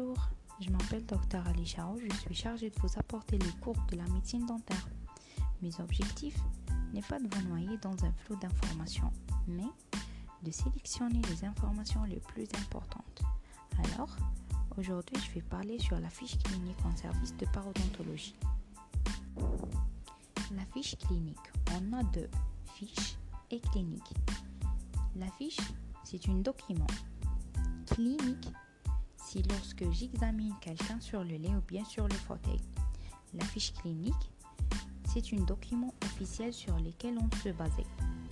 Bonjour, je m'appelle Dr Ali Chao, je suis chargée de vous apporter les cours de la médecine dentaire. Mes objectifs n'est pas de vous noyer dans un flot d'informations, mais de sélectionner les informations les plus importantes. Alors, aujourd'hui, je vais parler sur la fiche clinique en service de parodontologie. La fiche clinique, on a deux, fiche et clinique. La fiche, c'est un document. Clinique, c'est lorsque j'examine quelqu'un sur le lit ou bien sur le fauteuil. La fiche clinique, c'est un document officiel sur lequel on se basait.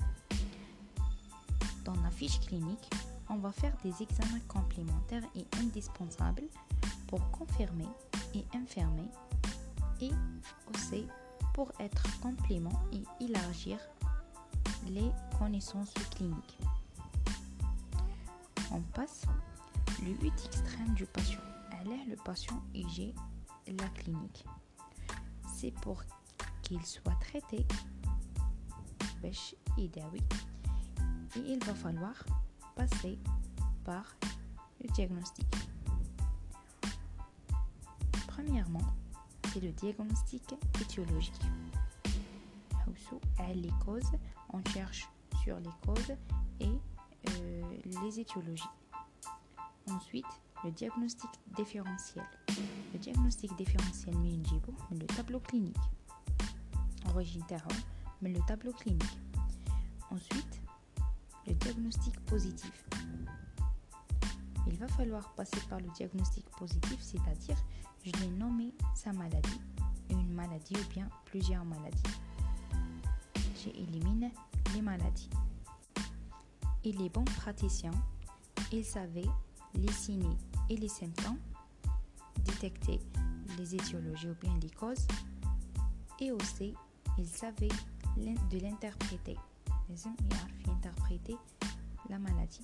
Dans la fiche clinique, on va faire des examens complémentaires et indispensables pour confirmer et infirmer et aussi pour être complément et élargir les connaissances cliniques. On passe le but extrême du patient. Elle est le patient et j'ai la clinique. C'est pour qu'il soit traité et il va falloir passer par le diagnostic. Premièrement, c'est le diagnostic étiologique. Les causes, on cherche sur les causes et les étiologies. Ensuite, le diagnostic différentiel. Le diagnostic différentiel, le tableau clinique. Origine mais le tableau clinique. Ensuite, le diagnostic positif. Il va falloir passer par le diagnostic positif, c'est-à-dire je l'ai nommé sa maladie, une maladie ou bien plusieurs maladies. J'élimine les maladies. Et les bons praticiens, ils savaient les signes et les symptômes, détecter les étiologies ou bien les causes, et aussi ils savaient de l'interpréter. Ils interpréter la maladie.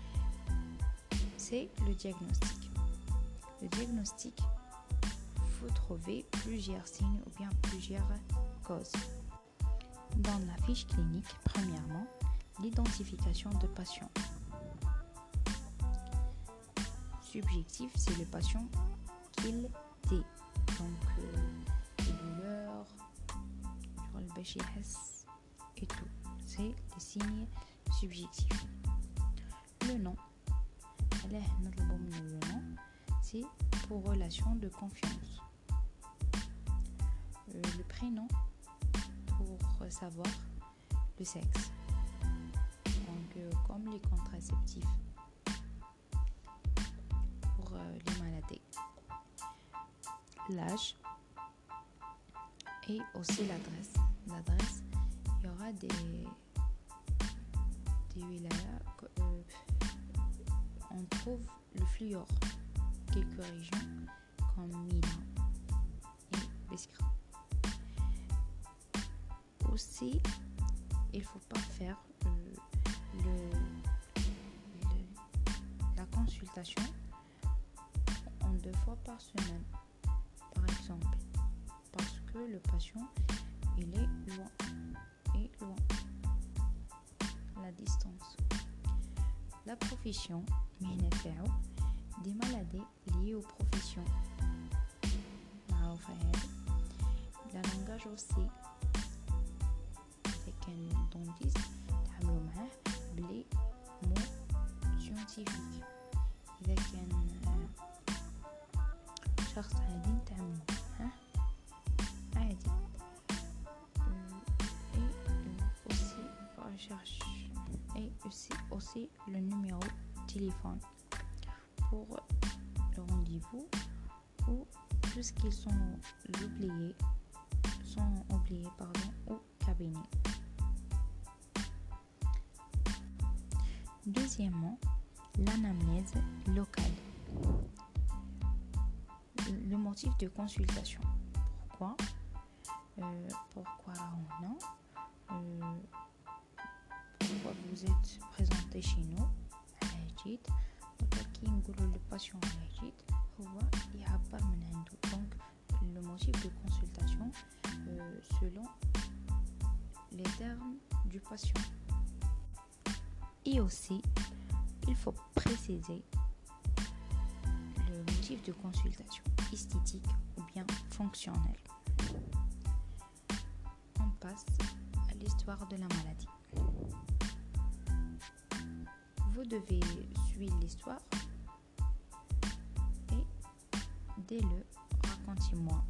C'est le diagnostic. Le diagnostic, il faut trouver plusieurs signes ou bien plusieurs causes. Dans la fiche clinique, premièrement, l'identification de patient. Subjectif, c'est le patient qu'il dit. Donc, les douleurs, sur le béchis et tout. C'est les signes subjectifs. Le nom, le nom, c'est pour relation de confiance. Le prénom, pour savoir le sexe. Donc, comme les contraceptifs pour les maladies. L'âge et aussi l'adresse. L'adresse, il y aura des wilayas, on trouve le fluor, quelques régions comme Milan et Biskra. Aussi, il ne faut pas faire la consultation en 2 fois par semaine, par exemple, parce que le patient il est loin. La distance. La profession, des maladies liées aux professions. La langage aussi. Avec un dentiste, les mots scientifiques. Avec un شخص عادي نتعامل معاه عادي. Et aussi le numéro de téléphone pour le rendez-vous ou tout ce qu'ils sont oubliés au cabinet. Deuxièmement, l'anamnèse locale. Le motif de consultation. Pourquoi pourquoi vous êtes présenté chez nous le patient donc le motif de consultation selon les termes du patient. Et aussi il faut préciser le motif motif de consultation, esthétique ou bien fonctionnel. On passe à l'histoire de la maladie. Vous devez suivre l'histoire et dès le racontez-moi.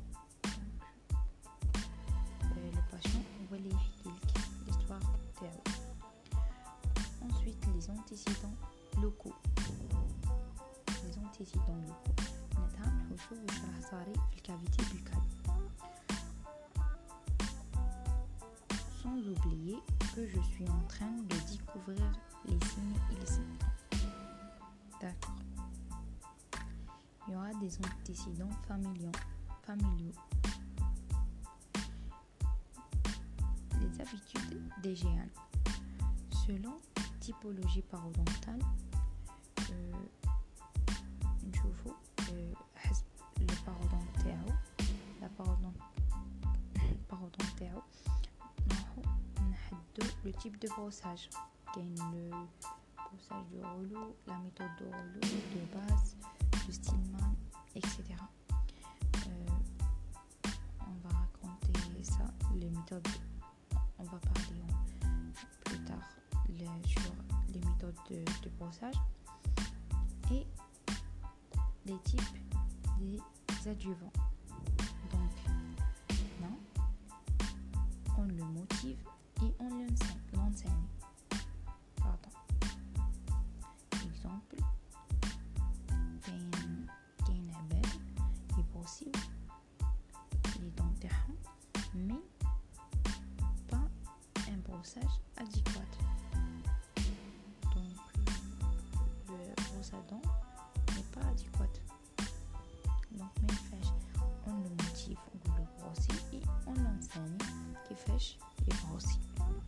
Le patient va lui expliquer l'histoire تاعو. Ensuite, les antécédents locaux. Les antécédents locaux. نتعامل شو واش راه صاري في الكافيتي بوكال. Sans oublier que je suis en train de découvrir les signes et les symptômes. D'accord. Il y aura des antécédents familiaux. Les habitudes d'hygiène. Selon typologie parodontale, نشوفوا حسب la parodont تاعو نحددوا le type de brossage. كاين le brossage de rouleau, la méthode de rouleau, de base, de Stillman, etc. On va raconter ça, les méthodes. On va parler plus tard sur les méthodes de brossage et les types des adjuvants. Donc, là, on le motive et on l'enseigne. Pardon. Exemple, كاين عباد يبروسيو les dents تاعهم mais pas un brossage adéquat. Donc, le brosse à dents n'est pas adéquat. Donc, on le motive, on le brosse et on l'enseigne كيفاش يبروسي.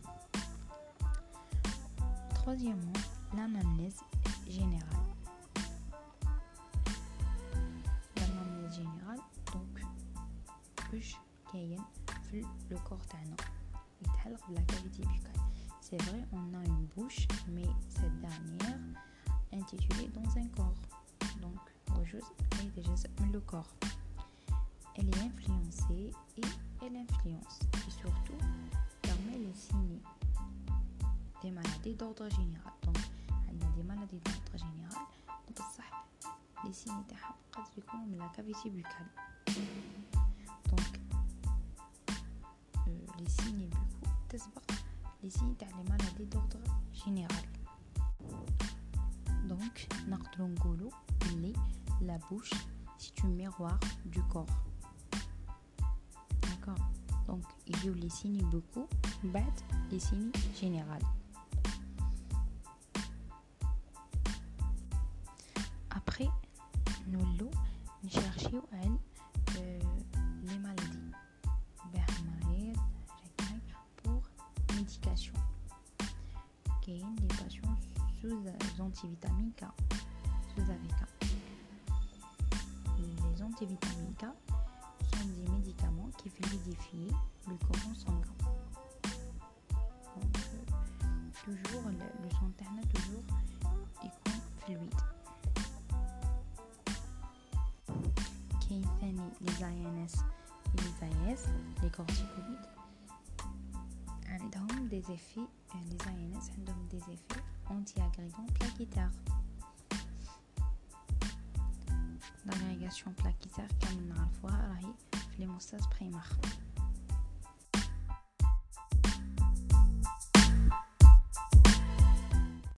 Troisièmement, l'anamnèse générale. L'anamnèse générale, donc, واش كاين في le corps تاعنا يتعلق بلا cavité buccale. C'est vrai, on a une bouche, mais cette dernière intitulée dans un corps. Donc, le corps. Elle est influencée et elle influence. Et surtout, permet les signes des maladies d'ordre général. Donc, on a des maladies d'ordre général. Les signes تاعهم قد يكونوا من la cavité buccale. Donc, les signes buccaux تسبق les signes تاع les maladies d'ordre général. Donc, نقدروا نقولوا بلي la bouche c'est un miroir du corps. D'accord. Donc, il y a les signes buccaux, بعد les signes généraux. Après, nous cherchons les maladies. Pour médication. Qu'il y des patients sous antivitamine K. Les antivitamines K sont des médicaments qui fluidifient le courant sanguin. Donc, toujours, le sang interne toujours est fluide. Les INS et les AS, les corticoïdes, ont des effets, les INS ont des effets anti-agrégants plaquettaires. L'agrégation plaquettaire, comme on a vu, est l'hémostase primaire.